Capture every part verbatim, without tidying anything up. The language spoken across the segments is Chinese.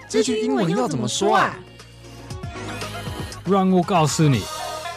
這句英文要怎麼說啊？ 讓我告訴你。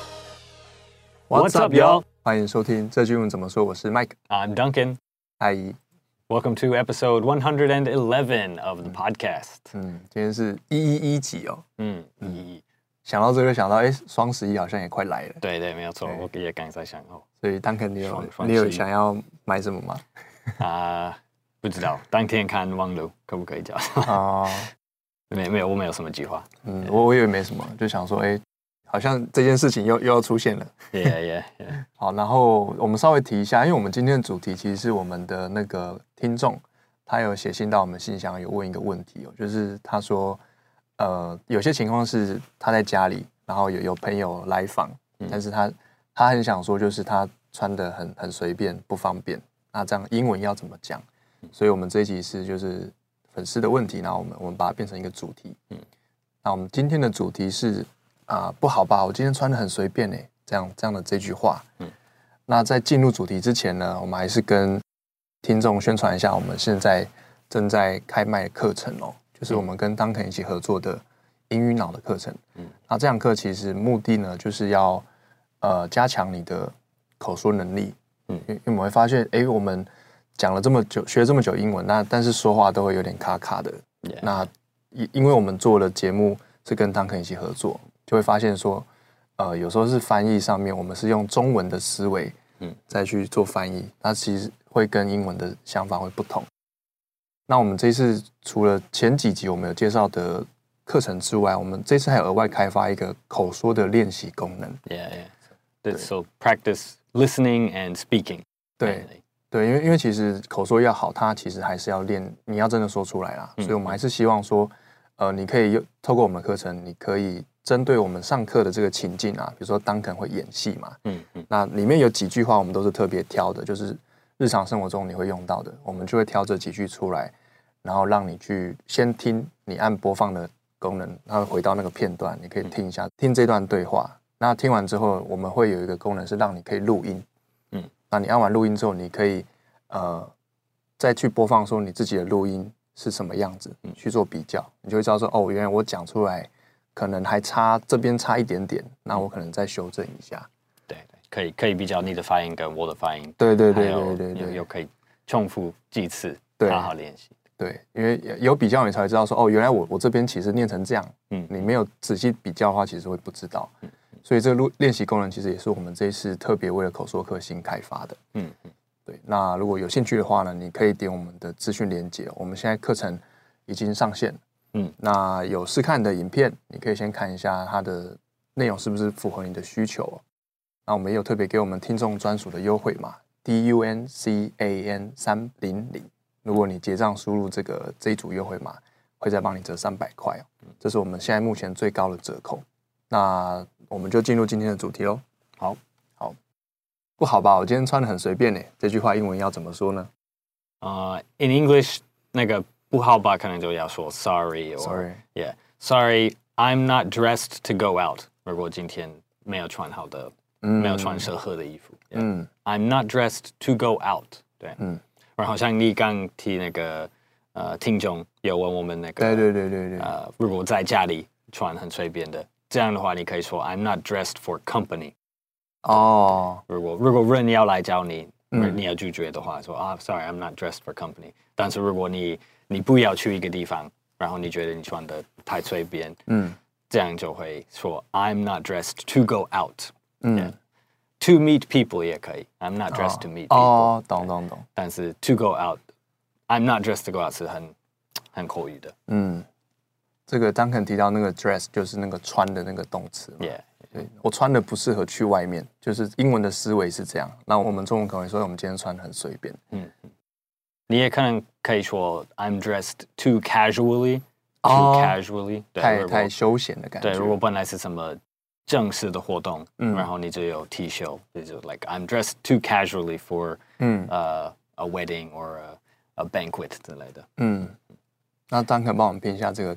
What's up, y'all? 歡迎收聽這句英文怎麼說，我是 Mike. I'm Duncan. Hi. Welcome to episode one hundred eleven of the podcast. 嗯，今天是一一一集哦。 嗯，一一一。 想到這個，想到哎，雙十一好像也快來了。 對對，沒有錯，我也剛才想哦。 所以 Duncan，你有你有想要買什麼嗎？ 啊、呃，不知道，當天看網路可不可以叫？ 哦， 沒沒有，我沒有什麼計劃。 嗯，我我以為沒什麼，就想說，哎，好像這件事情又又要出現了。 Yeah, yeah, yeah. 好，然後我們稍微提一下，因為我們今天的主題其實是我們的那個聽眾，他有寫信到我們信箱，有問一個問題哦，就是他說，呃，有些情況是他在家裡，然後有有朋友來訪，嗯、但是他他很想說，就是他穿得很很隨便，不方便，那這樣英文要怎麼講？所以我們這一集是就是粉絲的問題，然後我們我們把它變成一個主題。嗯，那我們今天的主題是啊、呃，不好吧？我今天穿得很隨便誒，這樣這樣的這句話。嗯，那在進入主題之前呢，我們還是跟聽眾宣傳一下，我們現在正在開賣的課程哦，就是我們跟 Duncan 一起合作的英語腦的課程。嗯，那這堂課其實目的呢，就是要呃加強你的口說能力。嗯，因為我們會發現，哎，我們講了這麼久，學了這麼久英文，那但是說話都會有點卡卡的。Yeah. 那因因為我們做的節目是跟 Duncan 一起合作，就會發現說，呃，有時候是翻譯上面，我們是用中文的思維，嗯，再去做翻譯，那其實會跟英文的想法會不同。那我們這一次除了前幾集我們有介紹的課程之外，我們這次還有額外開發一個口說的練習功能。 Yeah, yeah. 對 So practice listening and speaking. 對。對，因為因為其實口說要好，它其實還是要練，你要真的說出來啦。嗯、所以我們還是希望說，呃，你可以透過我們的課程，你可以針對我們上課的這個情境啊，比如說Duncan會演戲嘛，嗯嗯，那裡面有幾句話我們都是特別挑的，就是日常生活中你會用到的，我們就會挑這幾句出來，然後讓你去先聽，你按播放的功能，然後回到那個片段，你可以聽一下，嗯、聽這段對話。那聽完之後，我們會有一個功能是讓你可以錄音。那你按完錄音之後，你可以呃再去播放說你自己的錄音是什麼樣子，嗯、去做比較，你就會知道說哦，原來我講出來可能還差這邊差一點點，那我可能再修正一下。 對對，可以可以比較你的發音跟我的發音。 對對對對對對， 又可以重複幾次，好好練習。 對，因為有比較你才會知道說哦，原來我我這邊其實念成這樣，嗯，你沒有仔細比較的話，其實會不知道。嗯，所以這個錄練習功能其實也是我們這一次特別為了口說課新開發的。嗯嗯，對。那如果有興趣的話呢，你可以點我們的資訊連結。我們現在課程已經上線。嗯，那有試看的影片，你可以先看一下它的內容是不是符合你的需求。那我們也有特別給我們聽眾專屬的優惠碼 D U N C A N 三零零。如果你結賬輸入這個這一組優惠碼，會再幫你折三百塊哦。這是我們現在目前最高的折扣。那我們就進入今天的主題嘍。好，好，不好吧？我今天穿得很隨便呢。這句話英文要怎麼說呢？ 呃、uh, ，in English 那個不好吧，可能就要說 sorry or sorry, yeah, sorry, I'm not dressed to go out。如果今天沒有穿好的，嗯、沒有穿適合的衣服，嗯 yeah,，I'm not dressed to go out。對，嗯。然後像你剛提那個呃，聽眾有問我們那個， 對對對對對， 呃，如果在家裡穿很隨便的，這樣的話，你可以說 I'm not dressed for company。 哦， 如果如果人要來找你，嗯、你要拒絕的話，說啊 ，Sorry, I'm not dressed for company。但是如果你你不要去一個地方，然後你覺得你穿的太隨便，嗯，這樣就會說 I'm not dressed to go out。嗯。Yeah. To meet people 也可以 ，I'm not dressed to meet people。 哦，懂懂懂。 但是 to go out，I'm not dressed to go out 是很很口語的。嗯， 這個Duncan提到那個 dress 就是那個穿的那個動詞嘛。 Yeah， 對，我穿的不適合去外面，就是英文的思維是這樣。那我們中文可能會說我們今天穿得很隨便。嗯， 你也可能可以說 I'm dressed too casually，too casually， 太太休閒的感覺。 對，如果本來是什麼正式的活動，嗯、然後你就有 T 恤，就 like I'm dressed too casually for，嗯，呃、uh, ，a wedding or a, a banquet 之類的。嗯， 那Duncan幫我們拼一下這個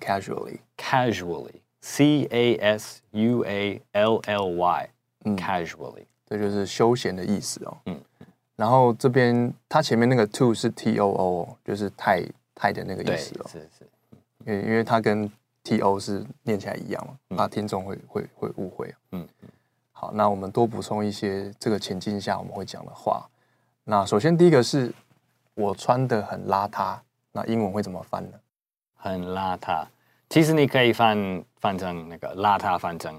casually。casually，C A S U A L L Y，casually，、嗯、 這就是休閒的意思哦。嗯，然後這邊它前面那個 to 是 T O O， 就是太太的那個意思哦。 是是。 因為因為它跟 T O 是念起來一樣嘛，那、嗯、聽眾會會會誤會。嗯嗯。好，那我們多補充一些這個情境下我們會講的話。那首先第一個是我穿得很邋遢，那英文會怎麼翻呢？ 很邋遢，其實你可以翻翻成那個邋遢，翻成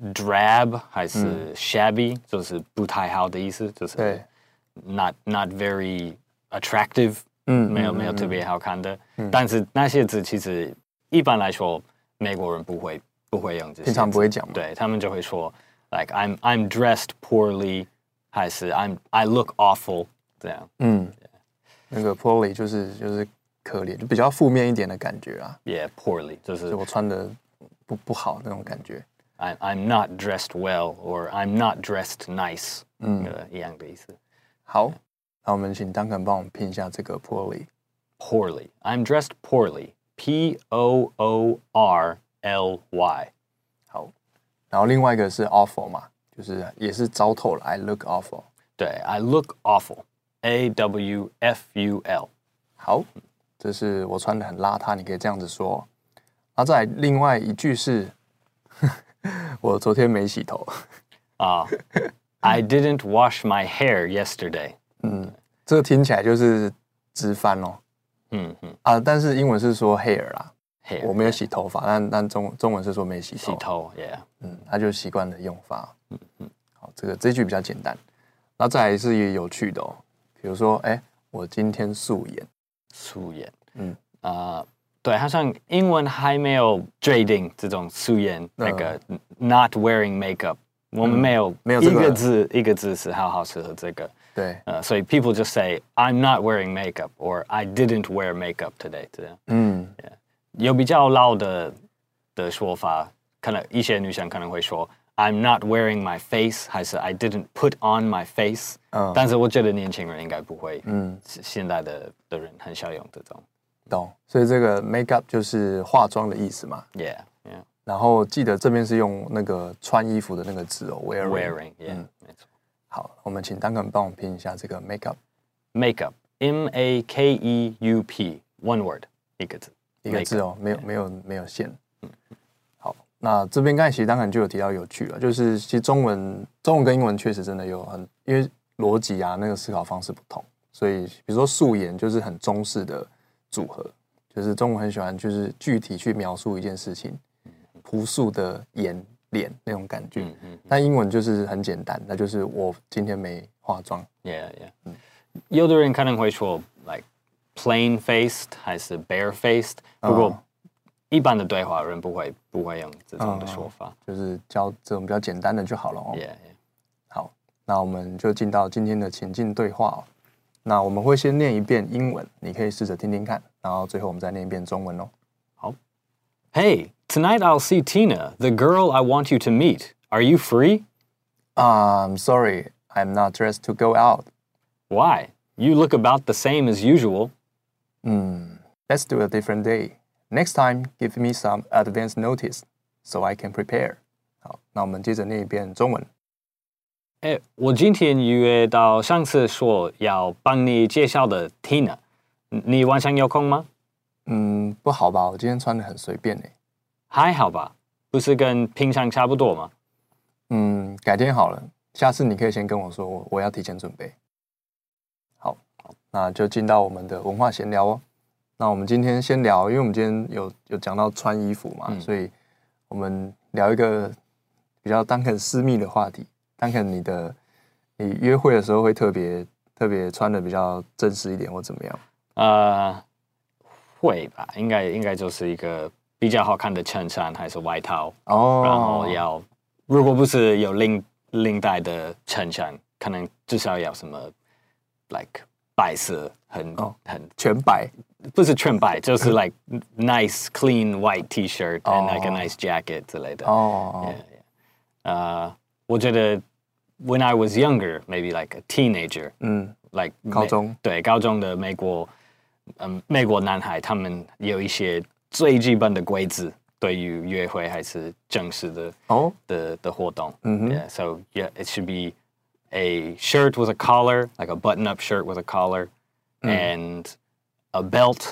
drab 還是 shabby，、嗯、就是不太好的意思，就是 not not very attractive，嗯，沒有沒有特別好看的。嗯、但是那些字其實一般來說美國人不會不會用這些字， 平常不會講嘛， 對，他們就會說 like I'm I'm dressed poorly， 還是 I'm I look awful 這樣。嗯， 那個 poorly 就是就是可憐，就比較負面一點的感覺啊。 Yeah, poorly 就是我穿的不不好那種感覺。 I'm I'm not dressed well, or I'm not dressed nice， 嗯，呃，一樣的意思。 好，那我們請 Duncan 幫我們拼一下這個 poorly。 Poorly, I'm dressed poorly. P O O R L Y。 好，然後另外一個是 awful 嘛，就是也是糟透了。I look awful。 對 ，I look awful。A W F U L。 好，這是我穿的很邋遢，你可以這樣子說。然後再來另外一句是，我昨天沒洗頭。 啊、uh, ，I didn't wash my hair yesterday。 嗯，這個聽起來就是直翻哦。嗯嗯啊，但是英文是說 hair 啦 ，hair， 我沒有洗頭髮，但但中中文是說沒洗頭。 洗頭 ，yeah， 嗯，他就習慣的用法。嗯嗯，好，這個這一句比較簡單。那再來是一個有趣的哦，比如說，哎，我今天素顏。 素顏，嗯啊、呃，對，好像英文還沒有決定這種素顏、嗯、那個 not wearing makeup，、嗯、我們沒有沒有一個字、這個、一個字是好好適合這個。對，呃，所以 people just say I'm not wearing makeup or I didn't wear makeup today， 這樣。嗯， yeah. 有比較老的的說法，可能一些女生可能會說 I'm not wearing my face， 還是 I didn't put on my face。嗯，但是我覺得年輕人應該不會。嗯，現在的的人很少用這種。 懂，所以這個 makeup 就是化妝的意思嘛。 Yeah, yeah。 然後記得這邊是用那個穿衣服的那個字哦 ，wearing。 Wearing, yeah，、嗯、沒錯。 好，我們請 Duncan 幫我們拼一下這個 makeup。Makeup, M A K E U P，one word， 一個字， 一個字哦，沒有沒有沒有線。嗯，好，那這邊剛才其實 Duncan就有提到有趣了，就是其實中文中文跟英文確實真的有很，因為邏輯啊那個思考方式不同，所以比如說素顏就是很中式的組合，就是中文很喜歡就是具體去描述一件事情，樸素的顏。臉那種感覺，嗯嗯，但英文就是很簡單，那就是我今天沒化妝。 Yeah, yeah、嗯。有的人可能會說 like plain faced 還是 bare faced，、哦、不過一般的對話人不會不會用這種的說法，哦、就是教這種比較簡單的就好了哦。 Yeah, yeah。 好，那我們就進到今天的情境對話哦。那我們會先念一遍英文，你可以試着聽聽看，然後最後我們再念一遍中文哦。 好。Hey, tonight I'll see Tina, the girl I want you to meet. Are you free? Uh, I'm sorry, I'm not dressed to go out. Why? You look about the same as usual. Hmm, let's do a different day. Next time, give me some advance notice, so I can prepare. 好，那我們接着念一遍中文。 哎，我今天約到上次說要幫你介紹的 Tina， 你晚上有空嗎？ 嗯，不好吧？我今天穿得很隨便耶。 還好吧，不是跟平常差不多嗎？ 嗯，改天好了，下次你可以先跟我說，我我要提前準備。好，那就進到我們的文化閒聊哦。那我們今天先聊，因為我們今天有有講到穿衣服嘛，嗯、所以我們聊一個比較Duncan私密的話題。Duncan，你的你約會的時候會特別特別穿的比較正式一點，或怎麼樣？呃。 會吧，應該應該就是一個比較好看的襯衫還是外套哦，然後要如果不是有領領帶的襯衫，可能至少要什麼 like 白色很、哦、很全白， 不是全白，就是 like nice clean white T-shirt and、哦、like a nice jacket 之類的哦。Yeah, yeah. 呃，我覺得 when I was younger, maybe like a teenager， 嗯 ，like 高中對高中的美國。嗯，美國男孩他們有一些最基本的規則，對於約會還是正式的哦、oh? 的的活動。嗯哼 Yeah, so yeah, it should be a shirt with a collar, like a button-up shirt with a collar, mm. and a belt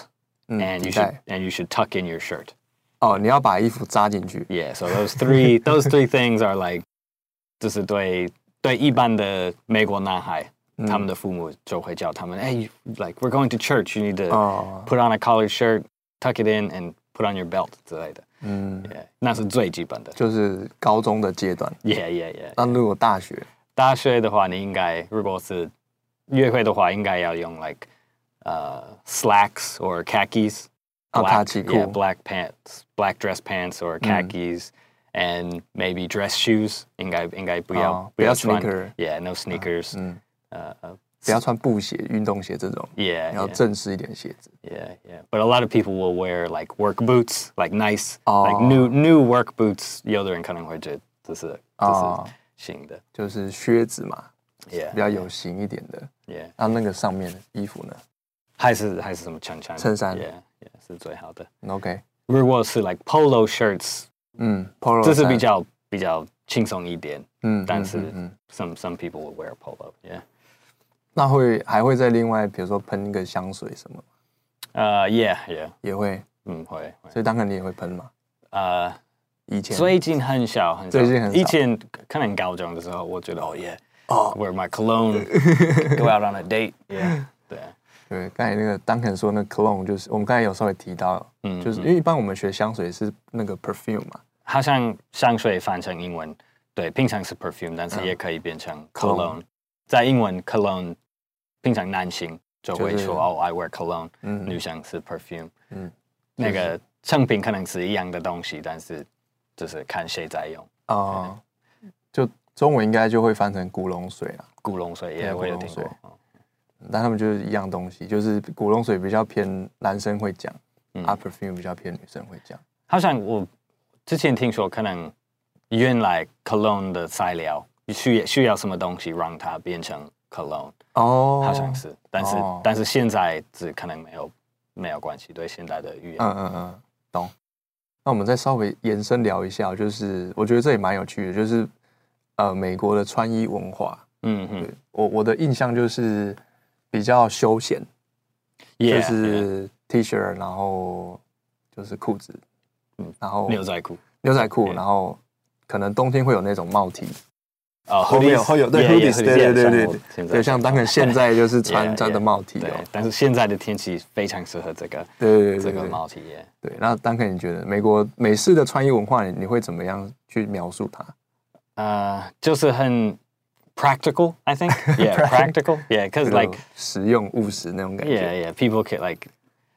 and you should and you should tuck in your shirt. 哦，你要把衣服扎進去。 Yeah, so those three those three things are like， 就是对对一般的美國男孩，嗯、他們的父母就會教他們，哎、hey, ，like we're going to church, you need to put on a collared shirt, tuck it in, and put on your belt 之類的。嗯 ，yeah, 那是最基本的， 就是高中的階段。 Yeah, yeah, yeah. 那如果大學， 大學的話，你應該如果是約會的話，應該要用 like 呃、uh, slacks or khakis. Black, yeah, black pants, black dress pants or khakis, mm. and maybe dress shoes. 应該应該不要、oh, 不要穿 sneaker. Yeah, no sneakers. 嗯，呃、uh, 不要穿布鞋、運動鞋這種。 Yeah, 要正式一點鞋子。 Yeah, yeah. But a lot of people will wear like work boots, like nice, oh. like new new work boots. 有的人可能會覺得這是這是新的， 就是靴子嘛。 Yeah, 比較有型一點的。 Yeah. 那那個上面的衣服呢？ 還是還是什麼襯衫？ 襯衫。 Yeah. 是最好的。 OK， 如果是 like polo shirts， 嗯 ，polo 這是比較比較輕鬆一點。 嗯， 但是、 嗯、 some some people will wear polo，yeah。 那會還會再另外，比如說噴一個香水什麼？ 呃、uh, ，yeah yeah， 也會， 嗯會。 所以當然你也會噴嘛？ 呃、uh, 以前最近很少很少， 最近很少。 以前可能高中的時候，我覺得哦、oh, yeah，wear、oh. my cologne，go out on a date，yeah， 對。 對，剛才那個 Duncan 說那 cologne 就是我們剛才有稍微提到，嗯，就是因為一般我們學香水是那個 perfume 嘛， 好像香水翻成英文，對，平常是 perfume， 但是也可以變成 cologne。嗯、在英文 cologne， 平常男性就會說、就是、哦 I wear cologne，、嗯、女生是 perfume， 嗯，那個成品可能是一樣的東西，但是就是看誰在用啊、 呃，就中文應該就會翻成古龍水啦， 古龍水也我有聽過。 但他們就是一樣東西，就是古龍水比較偏男生會講，嗯，啊 perfume 比較偏女生會講。 好像我之前聽說，可能原來 cologne 的材料需要需要什麼東西讓它變成 cologne， 哦，好像是，但是、哦、但是現在只可能沒有沒有關係，對現在的語言。 嗯嗯嗯，懂。那我們再稍微延伸聊一下，就是我覺得這也蠻有趣的，就是呃美國的穿衣文化。嗯嗯，我我的印象就是。比較休閒， yeah, 就是 T 恤， 然後就是褲子，嗯，然後牛仔褲， 牛仔褲，然後可能冬天會有那種帽 T， 哦， 會有會有對 hoodies， 對對對對，對，像當然現在就是穿穿的帽 T 哦， 但是現在的天氣非常適合這個， 對對對， 這個帽 T， 對。那當然你覺得美國美式的穿衣文化，你會怎麼樣去描述它？ 呃，就是很。Practical, I think. Yeah, practical. Yeah, because like 實用務實那種感覺。 Yeah, yeah. People get like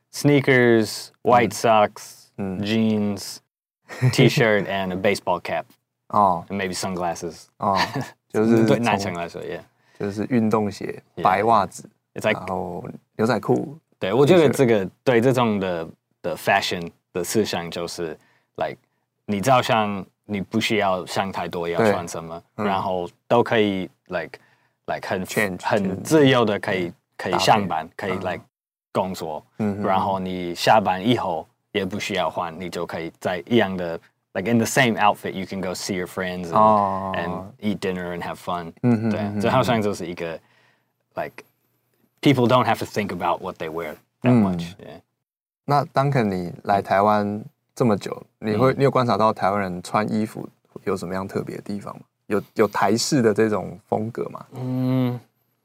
sneakers, white socks, mm. jeans, T-shirt, and a baseball cap. Oh, and maybe sunglasses. 哦，就是對男生來說 ，Yeah， 就是運動鞋、白襪子， It's like 然後牛仔褲。 對，我覺得這個對這種的的 fashion 的思想就是 like 你照相。你不需要想太多要穿什麼，嗯、然後都可以 like like 很 Change, 很自由的可以可以上班，可以 like 工作，嗯、然後你下班以後也不需要換，你就可以在一樣的 like in the same outfit you can go see your friends and,、哦、and eat dinner and have fun、嗯。對，這好像就是一個 like people don't have to think about what they wear that much、嗯。Yeah. 那 Duncan 你來台灣這麼久，你會你有觀察到台灣人穿衣服有什麼樣特別的地方嗎？有有台式的這種風格嗎？嗯，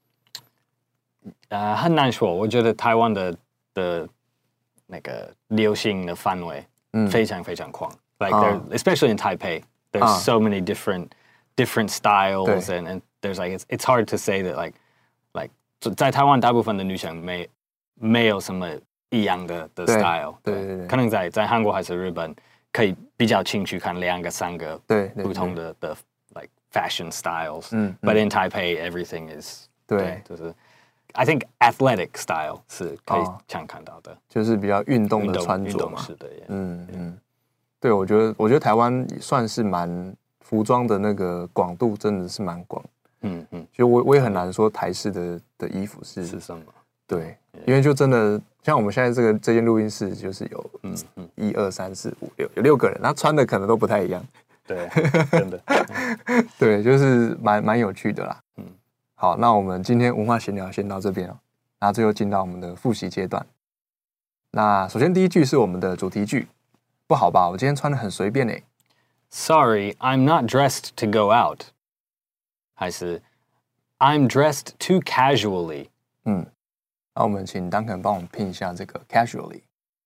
呃，很難說。我覺得台灣的的那個流行的範圍非常非常廣。嗯、like there, especially in Taipei, there's、啊、so many different different styles and and there's like it's it's hard to say that like like 在台灣大部分的女生沒沒有什麼。一樣的的 style， 對對 對, 對， 可能在在韓國還是日本，可以比較清楚看兩個三個不同的的 like fashion styles。嗯 ，But in Taipei everything is 對，就是 I think athletic style 是可以常看到的， 就是比較運動的穿着嘛。 是的， 嗯嗯，對，我覺得我覺得台灣算是蠻服裝的那個廣度真的是蠻廣。嗯嗯，就我我也很難說台式的的衣服是是什麼。 對，因為就真的像我們現在這個這間錄音室，就是有嗯嗯一二三四五六有六個人，他穿的可能都不太一樣。 對，真的， 對，就是蠻蠻有趣的啦。嗯，好，那我們今天文化閒聊先到這邊哦，然後最後進到我們的複習階段。 那首先第一句是我們的主題句，不好吧？我今天穿得很隨便誒。 Sorry, I'm not dressed to go out. 還是 I'm dressed too casually. 嗯，那我們請 Duncan 幫我們拼一下這個 casually.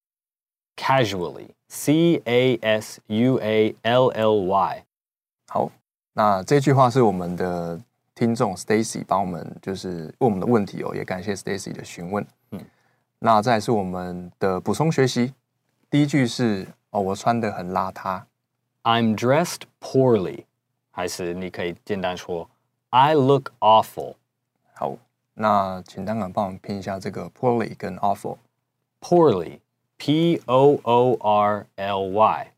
Casually, C A S U A L L Y. 好，那這句話是我們的聽眾 Stacy 幫我們就是問我們的問題哦，也感謝 Stacy 的詢問。嗯，那再來是我們的補充學習，第一句是哦，我穿得很邋遢。 I'm dressed poorly. 還是你可以簡單說 I look awful. 好，那請Duncan幫我們拼一下這個 poorly 跟 awful. Poorly, P O O R L Y.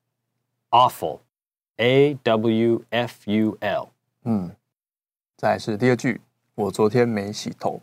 Awful, A W F U L. 嗯，再來是第二句，我昨天沒洗頭。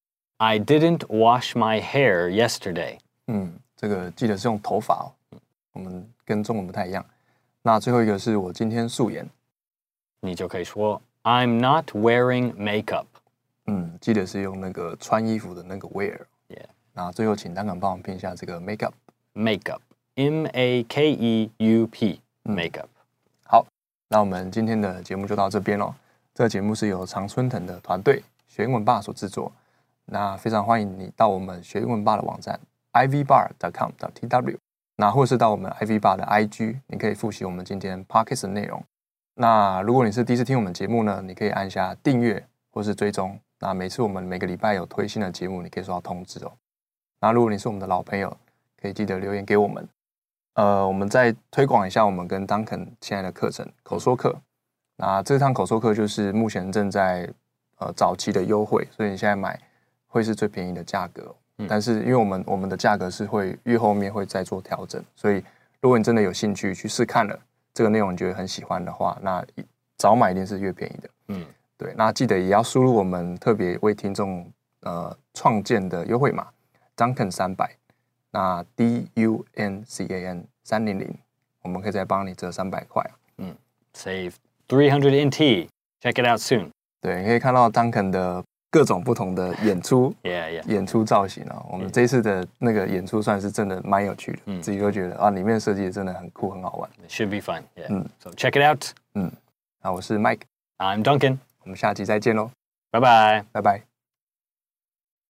I didn't wash my hair yesterday. 嗯，這個記得是用頭髮哦，我們跟中文不太一樣。那最後一個是我今天素顏， 你就可以說 I'm not wearing makeup. 嗯，記得是用那個穿衣服的那個 wear。Yeah. 那最後請Duncan幫我們拼一下這個 makeup。 Makeup, M A K E U P, makeup。 嗯，好，那我們今天的節目就到這邊咯。這個節目是由常春藤的團隊學英文吧所製作。那非常歡迎你到我們學英文吧的網站 i v bar dot com dot t w。那或是到我們 I V bar 的 I G， 你可以複習我們今天 Podcast 的內容。那如果你是第一次聽我們節目呢，你可以按下訂閱或是追蹤。那每次我們每個禮拜有推新的節目，你可以收到通知哦。那如果你是我們的老朋友，可以記得留言給我們。呃，我們再推廣一下我們跟 Duncan 現在的課程口說課。那這堂口說課就是目前正在呃早期的優惠，所以你現在買會是最便宜的價格哦。但是因為我們我們的價格是會越後面會再做調整，所以如果你真的有興趣去試看了這個內容，你覺得很喜歡的話，那早買一定是越便宜的。嗯，對。那記得也要輸入我們特別為聽眾呃創建的優惠碼 Duncan 三百，那 D U N C A N 三百，我們可以再幫你折三百塊。 嗯 ，Save three hundred N T，check it out soon。 對，你可以看到 Duncan 的各種不同的演出， yeah, yeah. 演出造型啊，我們這一次的那個演出算是真的蠻有趣的，嗯、自己都覺得啊，裡面設計的真的很酷，很好玩。 It should be fun, yeah. 嗯 ，So check it out. 嗯，那我是 Mike， I'm Duncan， 我們下期再見嘍， 拜拜， 拜拜。